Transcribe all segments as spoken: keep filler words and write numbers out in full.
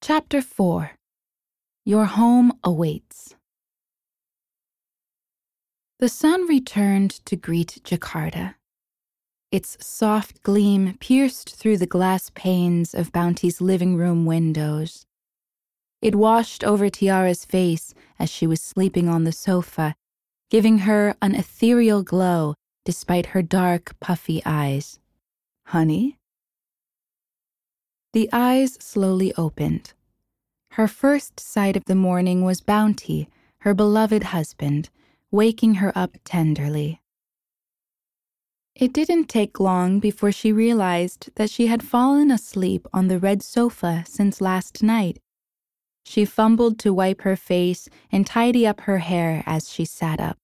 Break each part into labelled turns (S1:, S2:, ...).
S1: Chapter four. Your Home Awaits. The sun returned to greet Jakarta. Its soft gleam pierced through the glass panes of Bounty's living room windows. It washed over Tiara's face as she was sleeping on the sofa, giving her an ethereal glow despite her dark, puffy eyes. "Honey?" The eyes slowly opened. Her first sight of the morning was Bounty, her beloved husband, waking her up tenderly. It didn't take long before she realized that she had fallen asleep on the red sofa since last night. She fumbled to wipe her face and tidy up her hair as she sat up.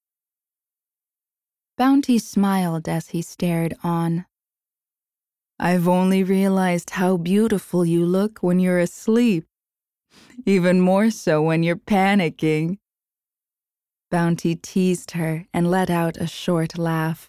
S1: Bounty smiled as he stared on. "I've only realized how beautiful you look when you're asleep. Even more so when you're panicking." Bounty teased her and let out a short laugh.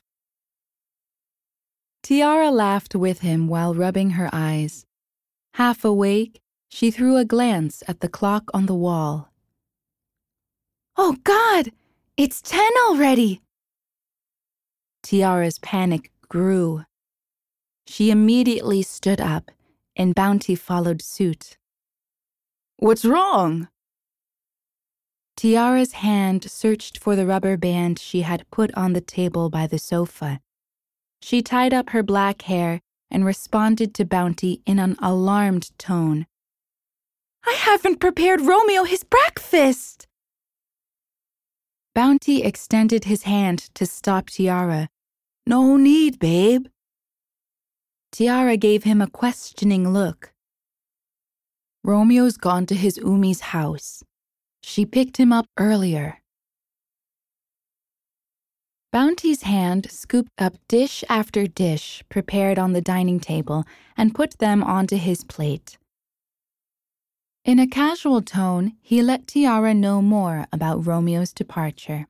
S1: Tiara laughed with him while rubbing her eyes. Half awake, she threw a glance at the clock on the wall. "Oh God, it's ten already!" Tiara's panic grew. She immediately stood up, and Bounty followed suit. "What's wrong?" Tiara's hand searched for the rubber band she had put on the table by the sofa. She tied up her black hair and responded to Bounty in an alarmed tone. "I haven't prepared Romeo his breakfast!" Bounty extended his hand to stop Tiara. "No need, babe." Tiara gave him a questioning look. "Romeo's gone to his Umi's house. She picked him up earlier." Bounty's hand scooped up dish after dish prepared on the dining table and put them onto his plate. In a casual tone, he let Tiara know more about Romeo's departure.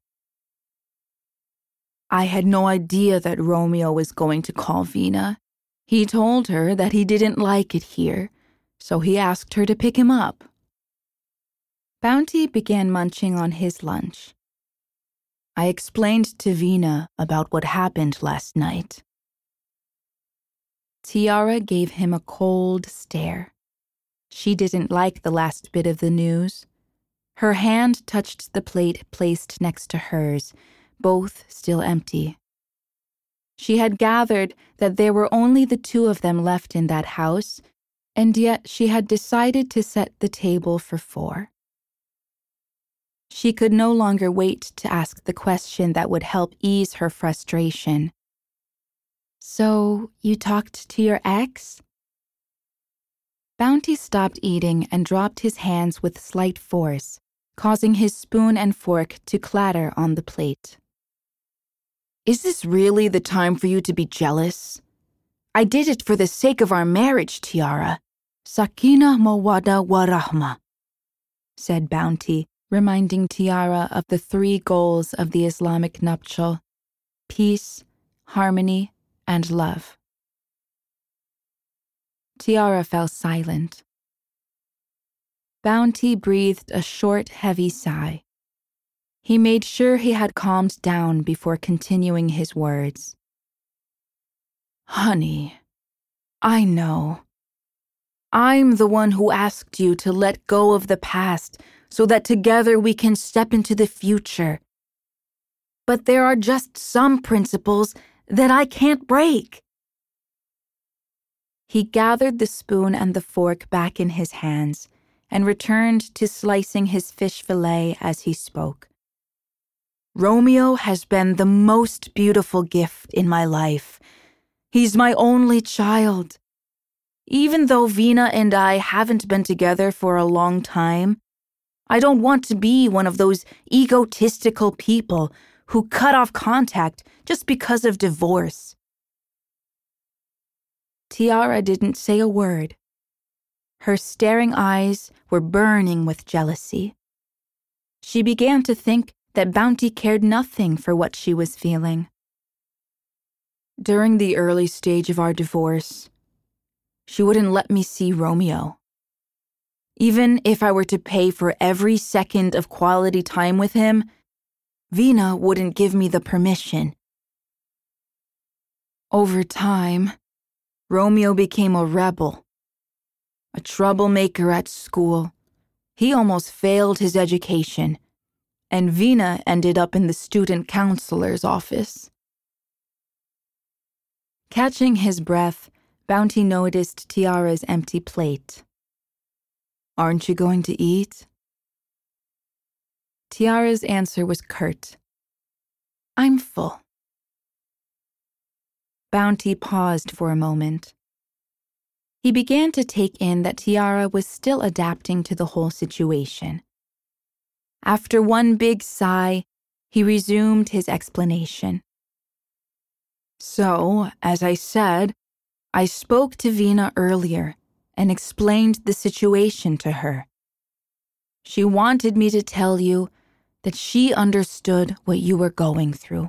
S1: "I had no idea that Romeo was going to call Vina. He told her that he didn't like it here, so he asked her to pick him up." Bounty began munching on his lunch. "I explained to Vina about what happened last night." Tiara gave him a cold stare. She didn't like the last bit of the news. Her hand touched the plate placed next to hers, both still empty. She had gathered that there were only the two of them left in that house, and yet she had decided to set the table for four. She could no longer wait to ask the question that would help ease her frustration. "So, you talked to your ex?" Bounty stopped eating and dropped his hands with slight force, causing his spoon and fork to clatter on the plate. "Is this really the time for you to be jealous? I did it for the sake of our marriage, Tiara. Sakina mawada warahma," said Bounty, reminding Tiara of the three goals of the Islamic nuptial: peace, harmony, and love. Tiara fell silent. Bounty breathed a short, heavy sigh. He made sure he had calmed down before continuing his words. "Honey, I know. I'm the one who asked you to let go of the past so that together we can step into the future. But there are just some principles that I can't break." He gathered the spoon and the fork back in his hands and returned to slicing his fish fillet as he spoke. "Romeo has been the most beautiful gift in my life. He's my only child. Even though Vina and I haven't been together for a long time, I don't want to be one of those egotistical people who cut off contact just because of divorce." Tiara didn't say a word. Her staring eyes were burning with jealousy. She began to think that Bounty cared nothing for what she was feeling. "During the early stage of our divorce, she wouldn't let me see Romeo. Even if I were to pay for every second of quality time with him, Vina wouldn't give me the permission. Over time, Romeo became a rebel, a troublemaker at school. He almost failed his education, and Vina ended up in the student counselor's office. Catching his breath, Bounty noticed Tiara's empty plate. "Aren't you going to eat?" Tiara's answer was curt. "I'm full." Bounty paused for a moment. He began to take in that Tiara was still adapting to the whole situation. After one big sigh, he resumed his explanation. "So, as I said, I spoke to Vina earlier and explained the situation to her. She wanted me to tell you that she understood what you were going through."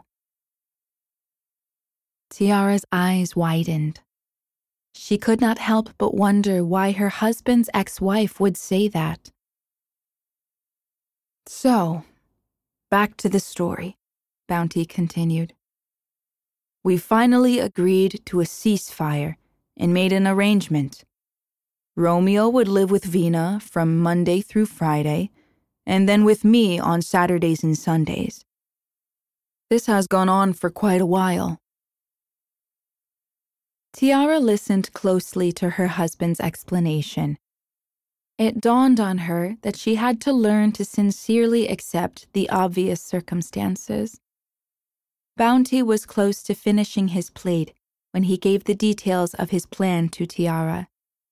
S1: Tiara's eyes widened. She could not help but wonder why her husband's ex-wife would say that. "So, back to the story," Bounty continued. "We finally agreed to a ceasefire and made an arrangement. Romeo would live with Vina from Monday through Friday, and then with me on Saturdays and Sundays. This has gone on for quite a while." Tiara listened closely to her husband's explanation. It dawned on her that she had to learn to sincerely accept the obvious circumstances. Bounty was close to finishing his plate when he gave the details of his plan to Tiara.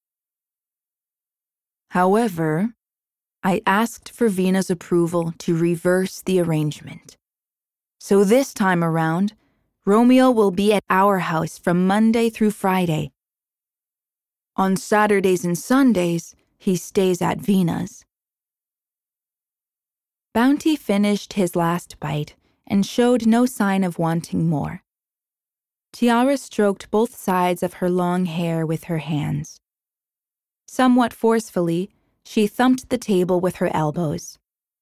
S1: "However, I asked for Vina's approval to reverse the arrangement. So this time around, Romeo will be at our house from Monday through Friday. On Saturdays and Sundays, he stays at Vina's." Bounty finished his last bite and showed no sign of wanting more. Tiara stroked both sides of her long hair with her hands. Somewhat forcefully, she thumped the table with her elbows.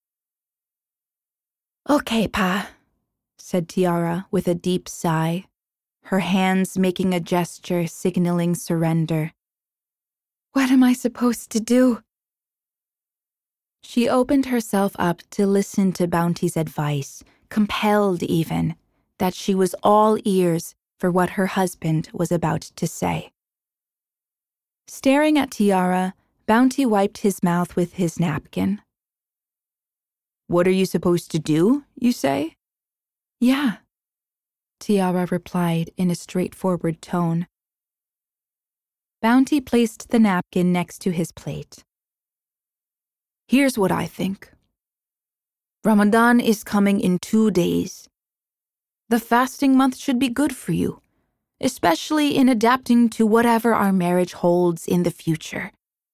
S1: "Okay, Pa," said Tiara with a deep sigh, her hands making a gesture signaling surrender. "What am I supposed to do?" She opened herself up to listen to Bounty's advice, compelled even, that she was all ears for what her husband was about to say. Staring at Tiara, Bounty wiped his mouth with his napkin. "What are you supposed to do, you say?" "Yeah," Tiara replied in a straightforward tone. Bounty placed the napkin next to his plate. "Here's what I think. Ramadan is coming in two days. The fasting month should be good for you, especially in adapting to whatever our marriage holds in the future."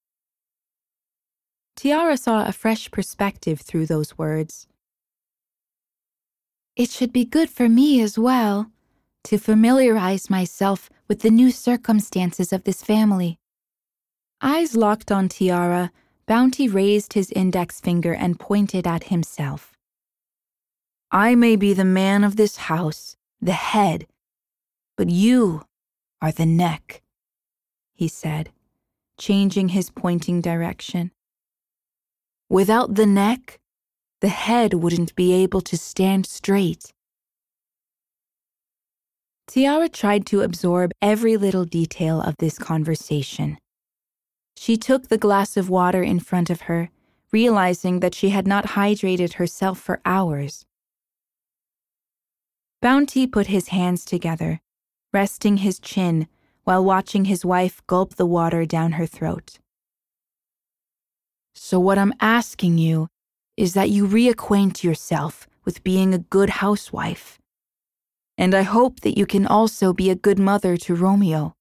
S1: Tiara saw a fresh perspective through those words. "It should be good for me as well, to familiarize myself with the new circumstances of this family." Eyes locked on Tiara, Bounty raised his index finger and pointed at himself. "I may be the man of this house, the head, but you are the neck," he said, changing his pointing direction. "Without the neck, the head wouldn't be able to stand straight." Tiara tried to absorb every little detail of this conversation. She took the glass of water in front of her, realizing that she had not hydrated herself for hours. Bounty put his hands together, resting his chin while watching his wife gulp the water down her throat. "So what I'm asking you is that you reacquaint yourself with being a good housewife. And I hope that you can also be a good mother to Romeo."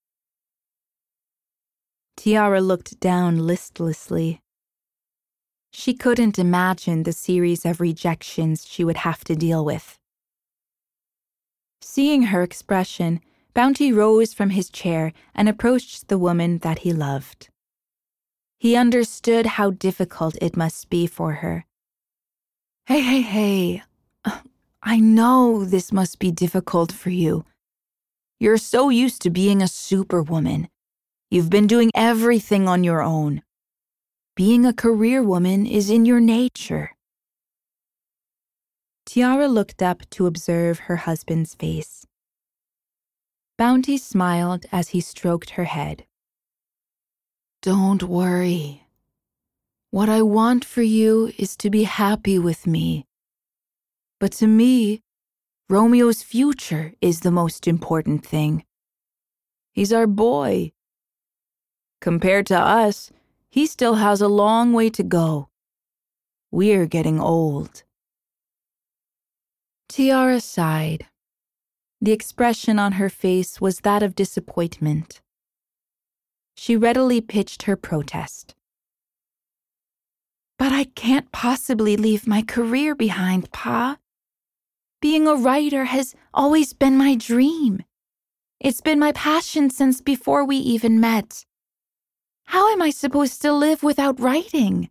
S1: Tiara looked down listlessly. She couldn't imagine the series of rejections she would have to deal with. Seeing her expression, Bounty rose from his chair and approached the woman that he loved. He understood how difficult it must be for her. Hey, hey, hey. I know this must be difficult for you. You're so used to being a superwoman. You've been doing everything on your own. Being a career woman is in your nature. Tiara looked up to observe her husband's face. Bounty smiled as he stroked her head. Don't worry. What I want for you is to be happy with me. But to me, Romeo's future is the most important thing. He's our boy. Compared to us, he still has a long way to go. We're getting old. Tiara sighed. The expression on her face was that of disappointment. She readily pitched her protest. But I can't possibly leave my career behind, Pa. Being a writer has always been my dream. It's been my passion since before we even met. How am I supposed to live without writing?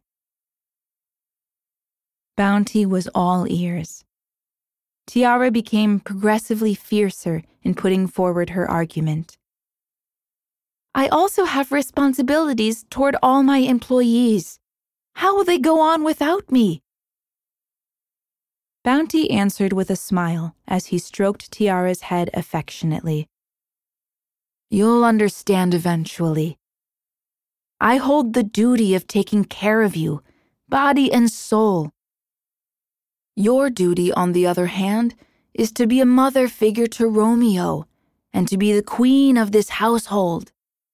S1: Bounty was all ears. Tiara became progressively fiercer in putting forward her argument. I also have responsibilities toward all my employees. How will they go on without me? Bounty answered with a smile as he stroked Tiara's head affectionately. You'll understand eventually. I hold the duty of taking care of you, body and soul. Your duty, on the other hand, is to be a mother figure to Romeo and to be the queen of this household.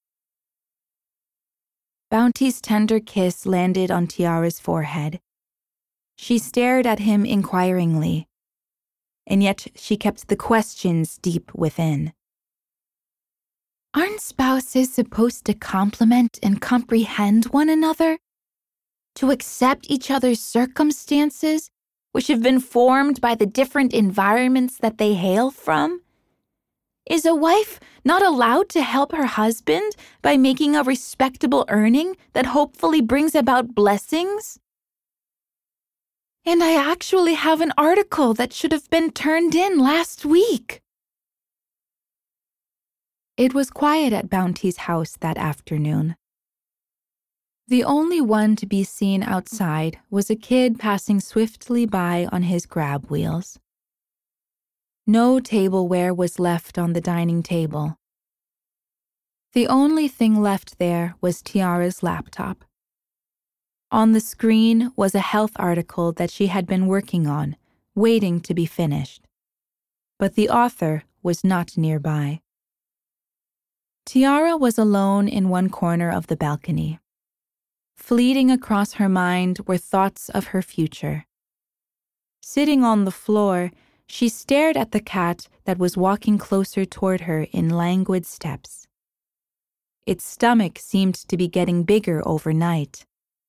S1: Bounty's tender kiss landed on Tiara's forehead. She stared at him inquiringly, and yet she kept the questions deep within. Aren't spouses supposed to complement and comprehend one another? To accept each other's circumstances, which have been formed by the different environments that they hail from? Is a wife not allowed to help her husband by making a respectable earning that hopefully brings about blessings? And I actually have an article that should have been turned in last week. It was quiet at Bounty's house that afternoon. The only one to be seen outside was a kid passing swiftly by on his grab wheels. No tableware was left on the dining table. The only thing left there was Tiara's laptop. On the screen was a health article that she had been working on, waiting to be finished. But the author was not nearby. Tiara was alone in one corner of the balcony. Fleeting across her mind were thoughts of her future. Sitting on the floor, she stared at the cat that was walking closer toward her in languid steps. Its stomach seemed to be getting bigger overnight.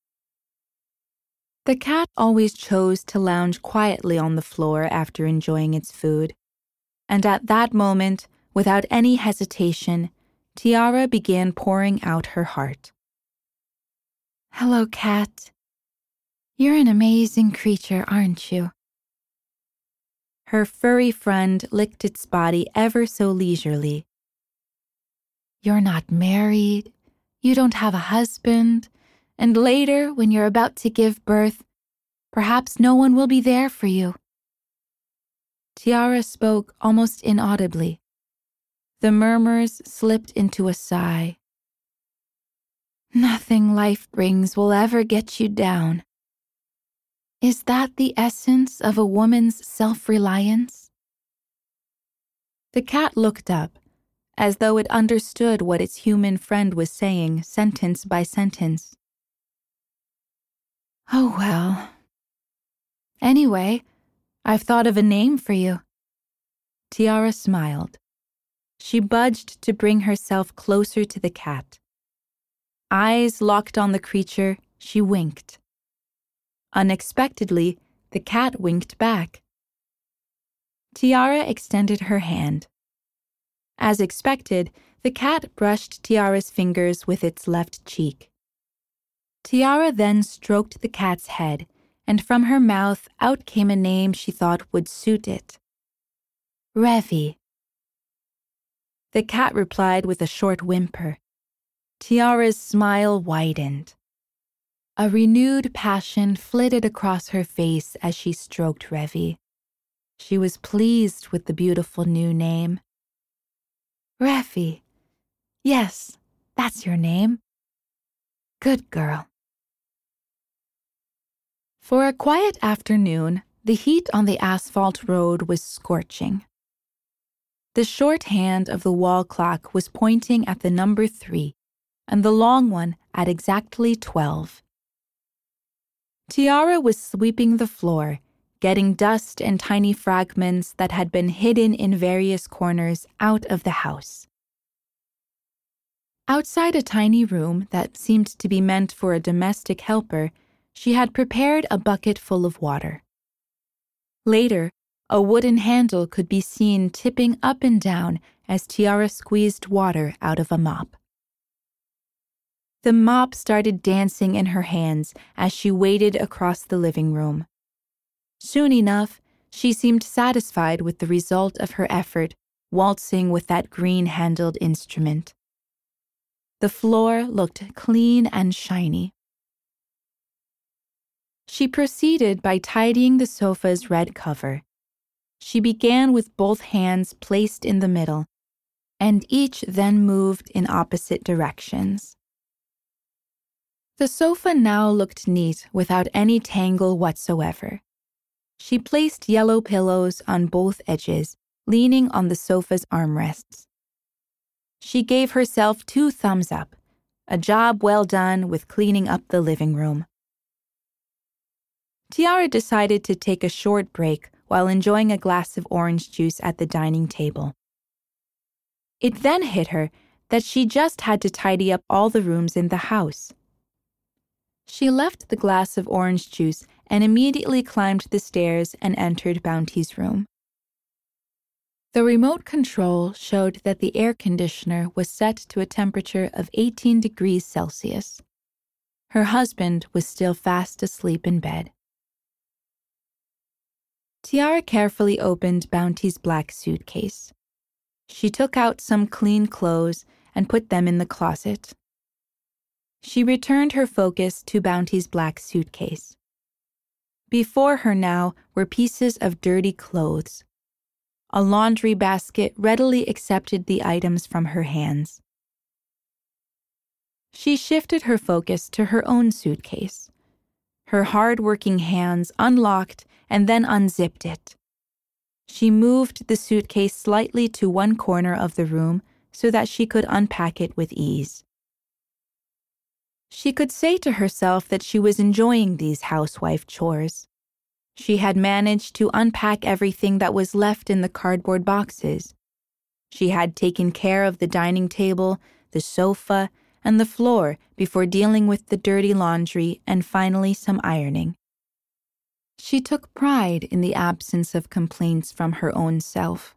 S1: The cat always chose to lounge quietly on the floor after enjoying its food, and at that moment, without any hesitation, Tiara began pouring out her heart. Hello, cat. You're an amazing creature, aren't you? Her furry friend licked its body ever so leisurely. You're not married, you don't have a husband, and later, when you're about to give birth, perhaps no one will be there for you. Tiara spoke almost inaudibly. The murmurs slipped into a sigh. Nothing life brings will ever get you down. Is that the essence of a woman's self-reliance? The cat looked up, as though it understood what its human friend was saying, sentence by sentence. Oh well. Anyway, I've thought of a name for you. Tiara smiled. She budged to bring herself closer to the cat. Eyes locked on the creature, she winked. Unexpectedly, the cat winked back. Tiara extended her hand. As expected, the cat brushed Tiara's fingers with its left cheek. Tiara then stroked the cat's head, and from her mouth out came a name she thought would suit it. Revy. The cat replied with a short whimper. Tiara's smile widened. A renewed passion flitted across her face as she stroked Revy. She was pleased with the beautiful new name. Revy. Yes, that's your name. Good girl. For a quiet afternoon, the heat on the asphalt road was scorching. The short hand of the wall clock was pointing at the number three, and the long one at exactly twelve. Tiara was sweeping the floor, getting dust and tiny fragments that had been hidden in various corners out of the house. Outside a tiny room that seemed to be meant for a domestic helper, she had prepared a bucket full of water. Later, a wooden handle could be seen tipping up and down as Tiara squeezed water out of a mop. The mop started dancing in her hands as she waded across the living room. Soon enough, she seemed satisfied with the result of her effort, waltzing with that green-handled instrument. The floor looked clean and shiny. She proceeded by tidying the sofa's red cover. She began with both hands placed in the middle, and each then moved in opposite directions. The sofa now looked neat without any tangle whatsoever. She placed yellow pillows on both edges, leaning on the sofa's armrests. She gave herself two thumbs up, a job well done with cleaning up the living room. Tiara decided to take a short break while enjoying a glass of orange juice at the dining table. It then hit her that she just had to tidy up all the rooms in the house. She left the glass of orange juice and immediately climbed the stairs and entered Bounty's room. The remote control showed that the air conditioner was set to a temperature of eighteen degrees Celsius. Her husband was still fast asleep in bed. Tiara carefully opened Bounty's black suitcase. She took out some clean clothes and put them in the closet. She returned her focus to Bounty's black suitcase. Before her now were pieces of dirty clothes. A laundry basket readily accepted the items from her hands. She shifted her focus to her own suitcase. Her hard-working hands unlocked and then unzipped it. She moved the suitcase slightly to one corner of the room so that she could unpack it with ease. She could say to herself that she was enjoying these housewife chores. She had managed to unpack everything that was left in the cardboard boxes. She had taken care of the dining table, the sofa, and the floor before dealing with the dirty laundry and finally some ironing. She took pride in the absence of complaints from her own self.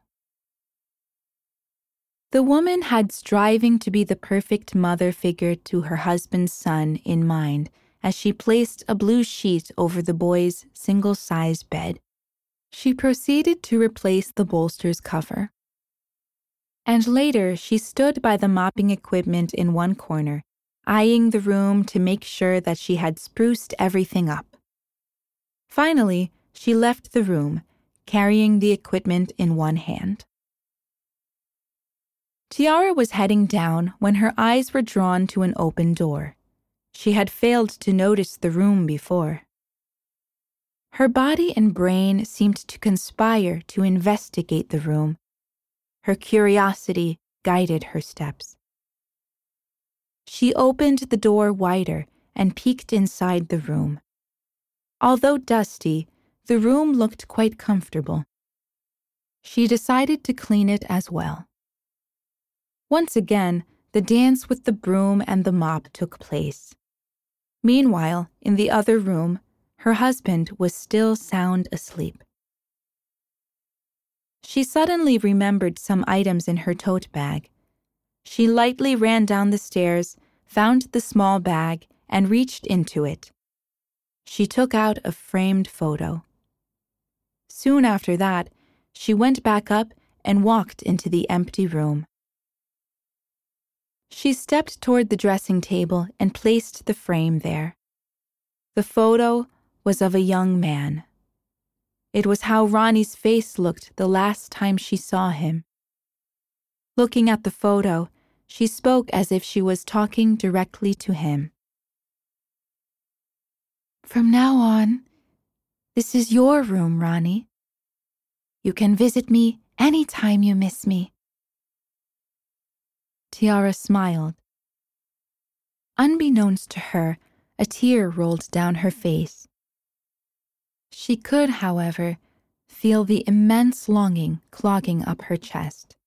S1: The woman had striving to be the perfect mother figure to her husband's son in mind as she placed a blue sheet over the boy's single-size bed. She proceeded to replace the bolster's cover. And later she stood by the mopping equipment in one corner, eyeing the room to make sure that she had spruced everything up. Finally, she left the room, carrying the equipment in one hand. Tiara was heading down when her eyes were drawn to an open door. She had failed to notice the room before. Her body and brain seemed to conspire to investigate the room. Her curiosity guided her steps. She opened the door wider and peeked inside the room. Although dusty, the room looked quite comfortable. She decided to clean it as well. Once again, the dance with the broom and the mop took place. Meanwhile, in the other room, her husband was still sound asleep. She suddenly remembered some items in her tote bag. She lightly ran down the stairs, found the small bag, and reached into it. She took out a framed photo. Soon after that, she went back up and walked into the empty room. She stepped toward the dressing table and placed the frame there. The photo was of a young man. It was how Ronnie's face looked the last time she saw him. Looking at the photo, she spoke as if she was talking directly to him. From now on, this is your room, Ronnie. You can visit me any time you miss me. Tiara smiled. Unbeknownst to her, a tear rolled down her face. She could, however, feel the immense longing clogging up her chest.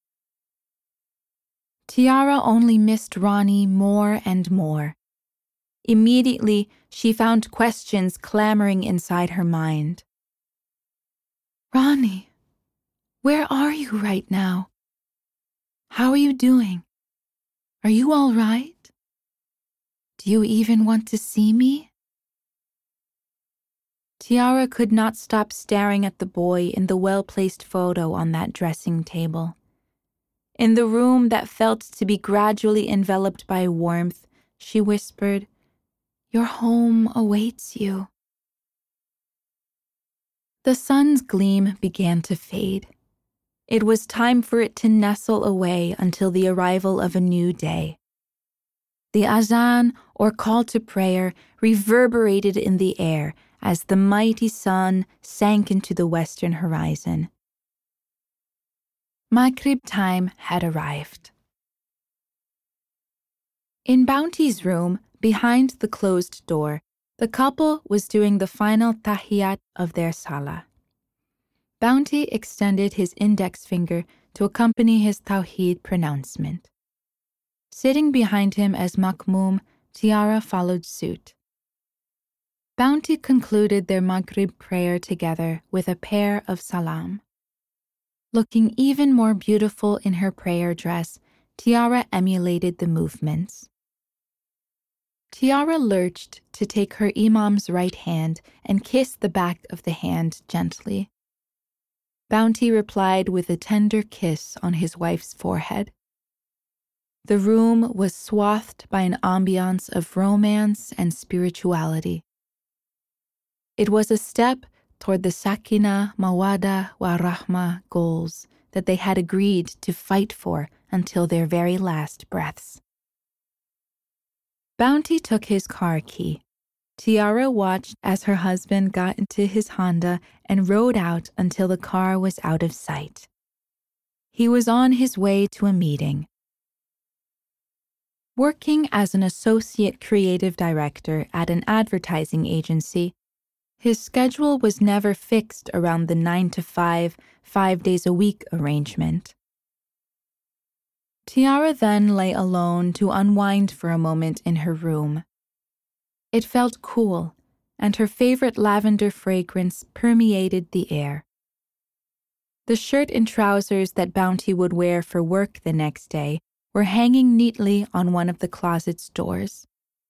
S1: Tiara only missed Ronnie more and more. Immediately, she found questions clamoring inside her mind. Ronnie, where are you right now? How are you doing? Are you all right? Do you even want to see me? Tiara could not stop staring at the boy in the well-placed photo on that dressing table. In the room that felt to be gradually enveloped by warmth, she whispered, Your home awaits you. The sun's gleam began to fade. It was time for it to nestle away until the arrival of a new day. The azan, or call to prayer, reverberated in the air as the mighty sun sank into the western horizon. Maghrib time had arrived. In Bounty's room, behind the closed door, the couple was doing the final tahiyat of their salah. Bounty extended his index finger to accompany his tawheed pronouncement. Sitting behind him as Makmoum, Tiara followed suit. Bounty concluded their Maghrib prayer together with a pair of salam. Looking even more beautiful in her prayer dress, Tiara emulated the movements. Tiara lurched to take her imam's right hand and kiss the back of the hand gently. Bounty replied with a tender kiss on his wife's forehead. The room was swathed by an ambiance of romance and spirituality. It was a step toward the Sakina, Mawada, wa Rahma goals that they had agreed to fight for until their very last breaths. Bounty took his car key. Tiara watched as her husband got into his Honda and rode out until the car was out of sight. He was on his way to a meeting. Working as an associate creative director at an advertising agency, his schedule was never fixed around the nine to five, five days a week arrangement. Tiara then lay alone to unwind for a moment in her room. It felt cool, and her favorite lavender fragrance permeated the air. The shirt and trousers that Bounty would wear for work the next day were hanging neatly on one of the closet's doors.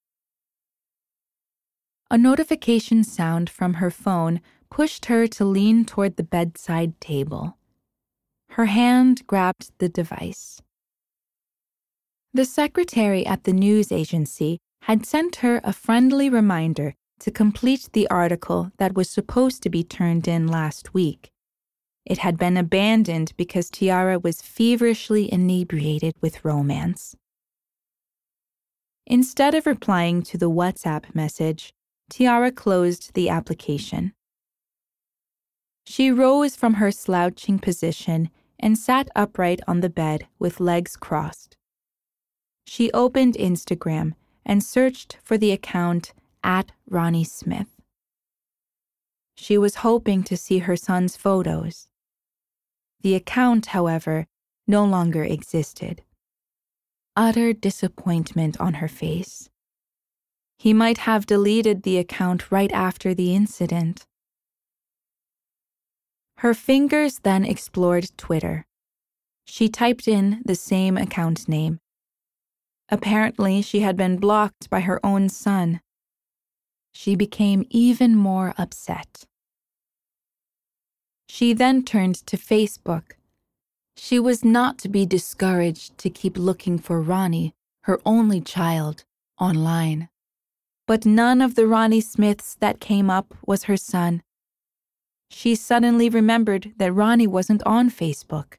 S1: A notification sound from her phone pushed her to lean toward the bedside table. Her hand grabbed the device. The secretary at the news agency had sent her a friendly reminder to complete the article that was supposed to be turned in last week. It had been abandoned because Tiara was feverishly inebriated with romance. Instead of replying to the WhatsApp message, Tiara closed the application. She rose from her slouching position and sat upright on the bed with legs crossed. She opened Instagram and searched for the account at Ronnie Smith. She was hoping to see her son's photos. The account, however, no longer existed. Utter disappointment on her face. He might have deleted the account right after the incident. Her fingers then explored Twitter. She typed in the same account name. Apparently, she had been blocked by her own son. She became even more upset. She then turned to Facebook. She was not to be discouraged to keep looking for Ronnie, her only child, online. But none of the Ronnie Smiths that came up was her son. She suddenly remembered that Ronnie wasn't on Facebook.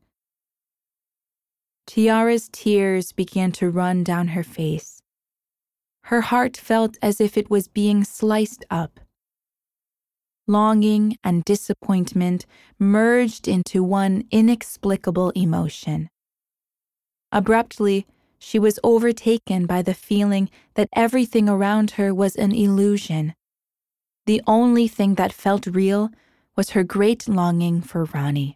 S1: Tiara's tears began to run down her face. Her heart felt as if it was being sliced up. Longing and disappointment merged into one inexplicable emotion. Abruptly, she was overtaken by the feeling that everything around her was an illusion. The only thing that felt real was her great longing for Ronnie.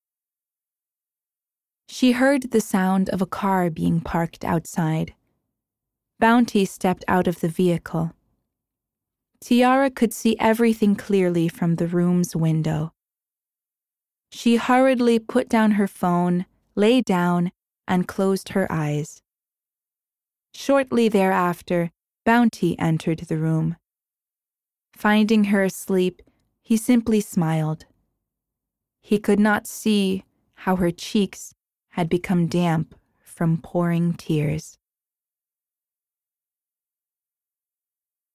S1: She heard the sound of a car being parked outside. Bounty stepped out of the vehicle. Tiara could see everything clearly from the room's window. She hurriedly put down her phone, lay down, and closed her eyes. Shortly thereafter, Bounty entered the room. Finding her asleep, he simply smiled. He could not see how her cheeks had become damp from pouring tears.